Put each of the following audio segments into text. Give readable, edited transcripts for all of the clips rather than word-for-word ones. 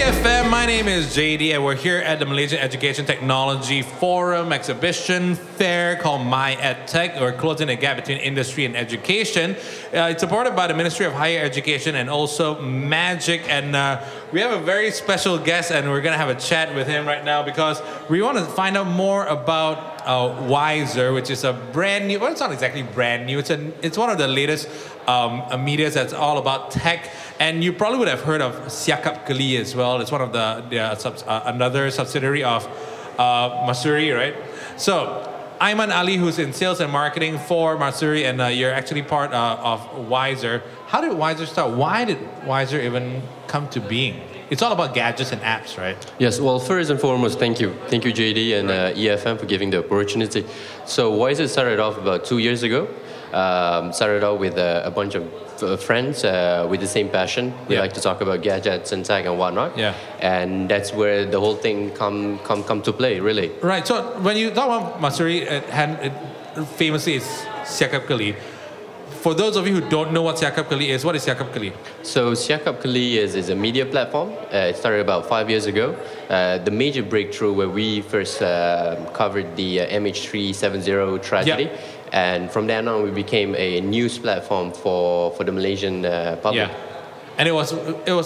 EFM, my name is JD, and we're here at the Malaysian Education Technology Forum exhibition fair called My EdTech. We're closing the gap between industry and education. It's supported by the Ministry of Higher Education and also Magic. And we have a very special guest, and we're going to have a chat with him right now because we want to find out more about Wiser, which is a brand new, well, it's not exactly brand new. It's one of the latest media that's all about tech. And you probably would have heard of Siakap Keli as well. It's one of another subsidiary of Masuri, right? So Ayman Ali, who's in sales and marketing for Masuri, and you're actually part of Wiser. How did Wiser start? Why did Wiser even come to being? It's all about gadgets and apps, right? Yes, well, first and foremost, thank you. Thank you, JD and EFM for giving the opportunity. So Wiser started off about 2 years ago. Started out with a bunch of friends with the same passion. We like to talk about gadgets and tech and whatnot. Yeah. And that's where the whole thing come to play, really. Right. So when you talk about Masuri, it famously is Siakap Keli. For those of you who don't know what Siakap Keli is, what is Siakap Keli? So Siakap Keli is a media platform. It started about 5 years ago. The major breakthrough where we first covered the MH370 tragedy. Yeah. And from then on, we became a news platform for the Malaysian public. Yeah. And it was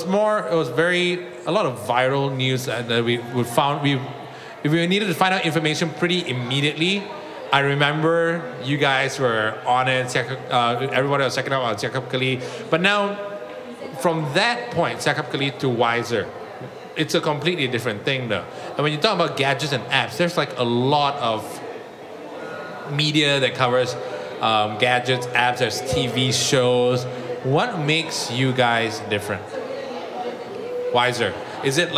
a lot of viral news that if we needed to find out information pretty immediately. I remember you guys were on it, everybody was checking out on Siakap Keli. But now, from that point, Siakap Keli to Wiser, it's a completely different thing though. And when you talk about gadgets and apps, there's like a lot of media that covers gadgets, apps, there's TV shows. What makes you guys different? Wiser. Is it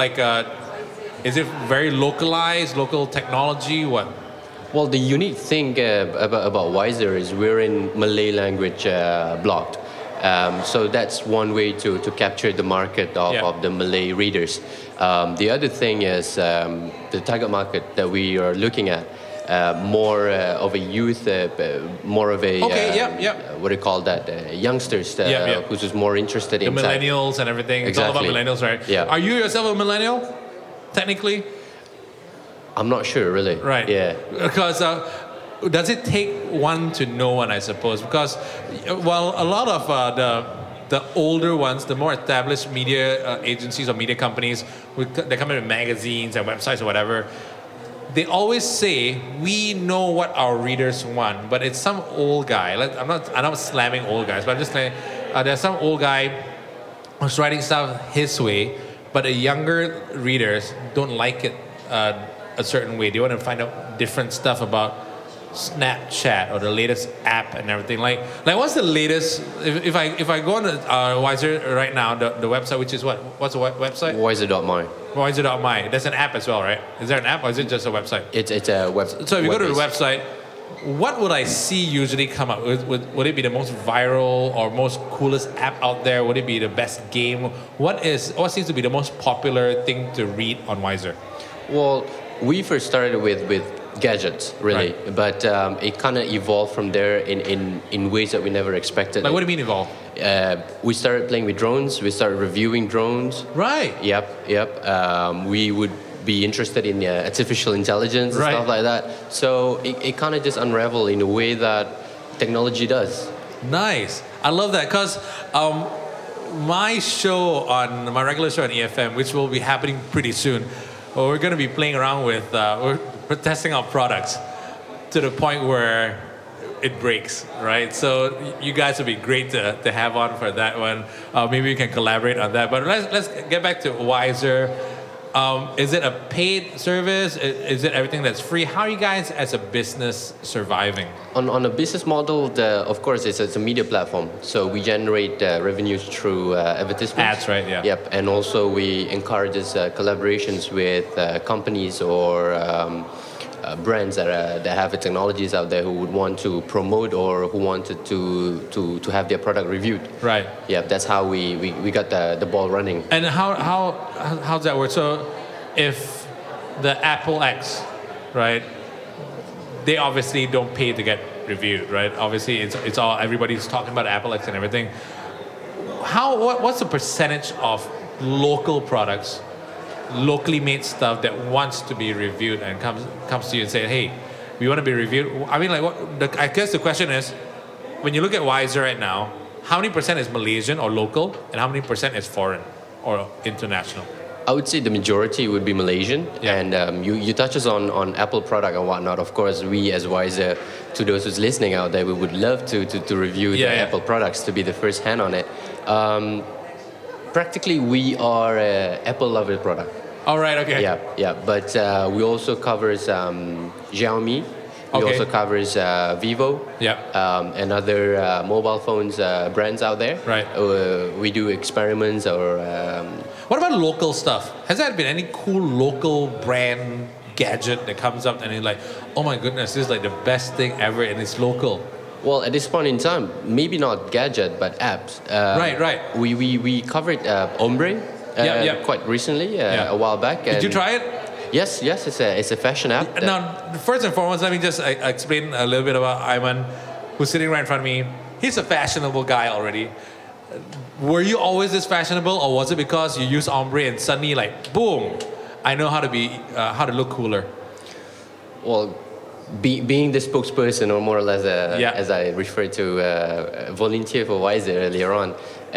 very localized, local technology? What? Well, the unique thing about Wiser is we're in Malay language blocked. So that's one way to capture the market of the Malay readers. The other thing is the target market that we are looking at. More of a youth, more of a what do you call that? Youngsters who's just more interested in the millennials and everything. Exactly. It's all about millennials, right? Yeah. Are you yourself a millennial? Technically, I'm not sure, really. Right. Yeah. Because does it take one to know one? I suppose because a lot of the older ones, the more established media agencies or media companies, they come in with magazines and websites or whatever. They always say we know what our readers want, but it's some old guy. I'm not slamming old guys, but I'm just saying there's some old guy who's writing stuff his way, but the younger readers don't like it a certain way. They want to find out different stuff about Snapchat or the latest app and everything. Like what's the latest? If I go on Wiser right now, the website, which is what? What's the website? Wiser.my. Wiser.my. There's an app as well, right? Is there an app or is it just a website? It's a website. So if you go to the website, what would I see usually come up? Would it be the most viral or most coolest app out there? Would it be the best game? What seems to be the most popular thing to read on Wiser? Well, we first started with gadgets, really, right. But it kind of evolved from there in ways that we never expected. Like, what do you mean evolve? We started playing with drones. We started reviewing drones. Right. Yep. We would be interested in artificial intelligence and stuff like that. So it kind of just unraveled in a way that technology does. Nice. I love that because my regular show on EFM, which will be happening pretty soon, we're going to be playing around with, we're testing out products to the point where it breaks, right? So you guys would be great to have on for that one. Maybe we can collaborate on that. But let's get back to Wiser. Is it a paid service? Is it everything that's free? How are you guys as a business surviving? On a business model, of course, it's a media platform. So we generate revenues through advertisements. Ads, right? Yeah. Yep. And also we encourage collaborations with companies or brands that have technologies out there who would want to promote or who wanted to have their product reviewed. Right. Yeah, that's how we got the ball running. And how's that work? So if the Apple X, right, they obviously don't pay to get reviewed, right? Obviously, it's all, everybody's talking about Apple X and everything. What's the percentage of local products locally made stuff that wants to be reviewed and comes to you and say, hey, we want to be reviewed? I mean, like, I guess the question is, when you look at Wiser right now, how many % is Malaysian or local, and how many % is foreign or international? I would say the majority would be Malaysian, and you touches on Apple product and whatnot. Of course, we as Wiser, to those who's listening out there, we would love to review the Apple products, to be the first hand on it. Practically, we are a Apple lover product. All right, okay. Yeah, but we also covers Xiaomi. We also covers Vivo. And other mobile phones brands out there. Right. We do experiments or. What about local stuff? Has there been any cool local brand gadget that comes up and you're like, oh my goodness, this is like the best thing ever and it's local? Well, at this point in time, maybe not gadget, but apps. Right. We covered Ombre quite recently, a while back. Did you try it? Yes, it's a fashion app. Now, first and foremost, let me just explain a little bit about Aiman, who's sitting right in front of me. He's a fashionable guy already. Were you always this fashionable, or was it because you use Ombre and suddenly, like, boom, I know how to look cooler? Well, being the spokesperson, or more or less, as I referred to, volunteer for Wiser earlier on,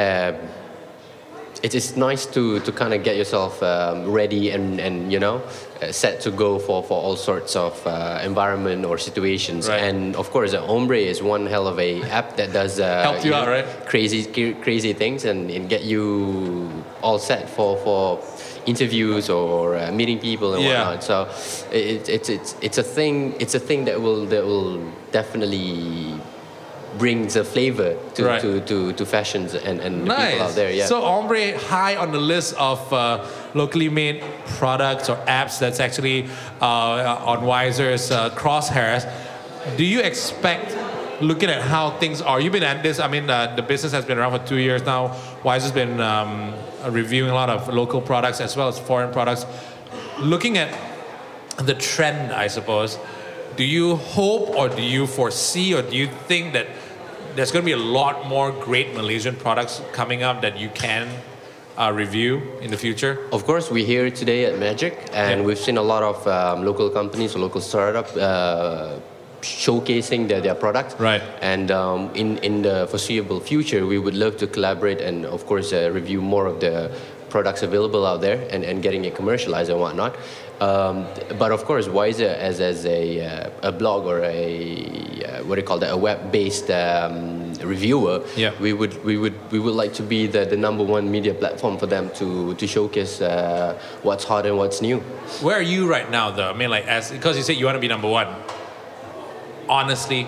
it is nice to kind of get yourself ready and set to go for all sorts of environment or situations. Right. And of course, Ombre is one hell of a app that does help you out, right? Crazy things and get you all set for interviews or meeting people and whatnot. So it's a thing that will definitely brings a flavor to fashions and the people out there. Yeah. So Ombre high on the list of locally made products or apps that's actually on Wiser's crosshairs. Do you expect, looking at how things are, you've been at this, I mean, the business has been around for 2 years now. Wiser's been reviewing a lot of local products as well as foreign products. Looking at the trend, I suppose, do you hope or do you foresee or do you think that there's going to be a lot more great Malaysian products coming up that you can review in the future? Of course, we're here today at Magic, and we've seen a lot of local companies or local startups showcasing their product. Right. And in the foreseeable future, we would love to collaborate and, of course, review more of the products available out there and getting it commercialized and whatnot. But of course, Wiser as a blog or a web-based reviewer, we would like to be the number one media platform for them to showcase what's hot and what's new. Where are you right now, though? I mean, like, because you said you want to be number one. Honestly,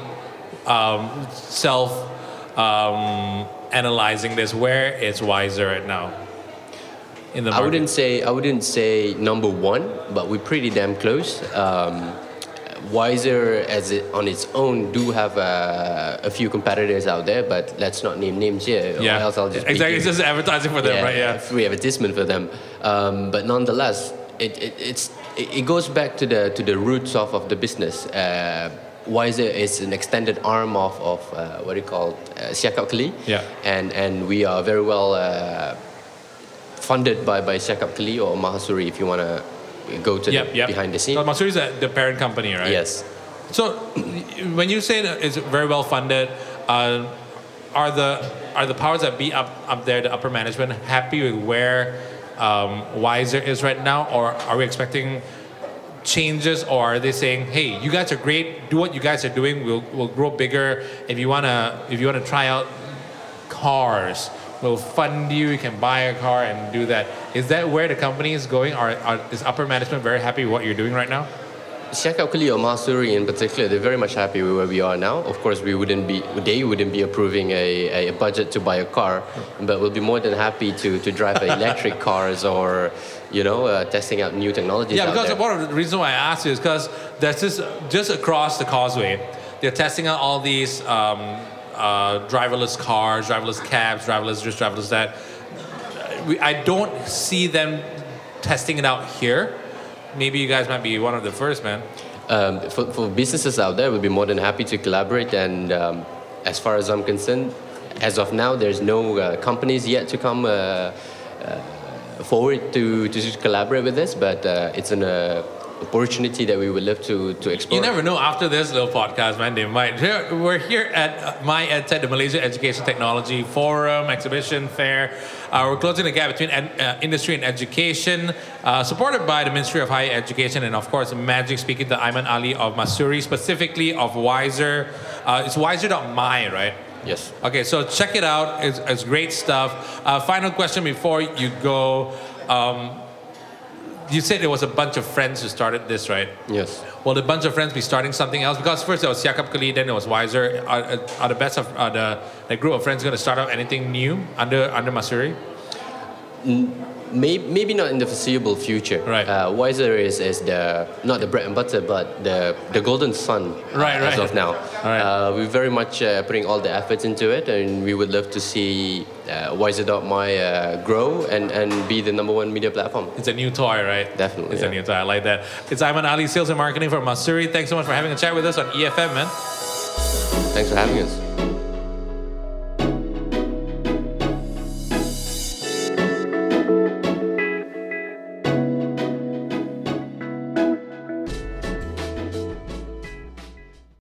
analyzing this, where is Wiser right now? In the market? I wouldn't say number one, but we're pretty damn close. Wiser, on its own, do have a few competitors out there, but let's not name names here. Or else I'll just it's just advertising for them, right? Yeah, free advertisement for them. But nonetheless, it goes back to the roots of the business. Wiser is an extended arm of Siakap Keli. Yeah. And we are very well funded by Siakap Keli or Mahasuri, if you want to go to behind the scene. So Mahasuri is the parent company, right? Yes. So when you say that it's very well funded, are the powers that be up there, the upper management, happy with where Wiser is right now, or are we expecting changes, or are they saying, hey, you guys are great, do what you guys are doing, we'll grow bigger. If you wanna try out cars, we'll fund you can buy a car and do that. Is that where the company is going, or is upper management very happy with what you're doing right now? Siakap Keli or Mahasuri in particular, they're very much happy with where we are now. Of course, they wouldn't be approving a budget to buy a car, but we'll be more than happy to drive electric cars or testing out new technologies. Yeah, because there. one of the reasons why I asked you is because there's this just across the causeway, they're testing out all these driverless cars, driverless cabs, driverless this, driverless that. I don't see them testing it out here. Maybe you guys might be one of the first, man. For businesses out there, we'll be more than happy to collaborate. And as far as I'm concerned, as of now, there's no companies yet to come forward to collaborate with this, but it's an opportunity that we would love to explore. You never know, after this little podcast, man, they might. We're here at My EdTech, the Malaysia Education Technology Forum, Exhibition, Fair. We're closing the gap between industry and education, supported by the Ministry of Higher Education and, of course, Magic, speaking to Aiman Ali of Masuri, specifically of Wiser. It's wiser.my, right? Yes. Okay, so check it out. It's great stuff. Final question before you go. You said there was a bunch of friends who started this, right? Yes. Will a bunch of friends be starting something else? Because first there was Siakap Kali, then there was Wiser. Are the best of the group of friends going to start up anything new under Masuri? Maybe not in the foreseeable future. Right. Wiser is the not the bread and butter, but the golden sun as of now. Right. We're very much putting all the efforts into it, and we would love to see Wiser.my grow and be the #1 media platform. It's a new toy, right? Definitely. It's a new toy. I like that. It's Aiman Ali, Sales and Marketing for Masuri. Thanks so much for having a chat with us on EFM, man. Thanks for having us.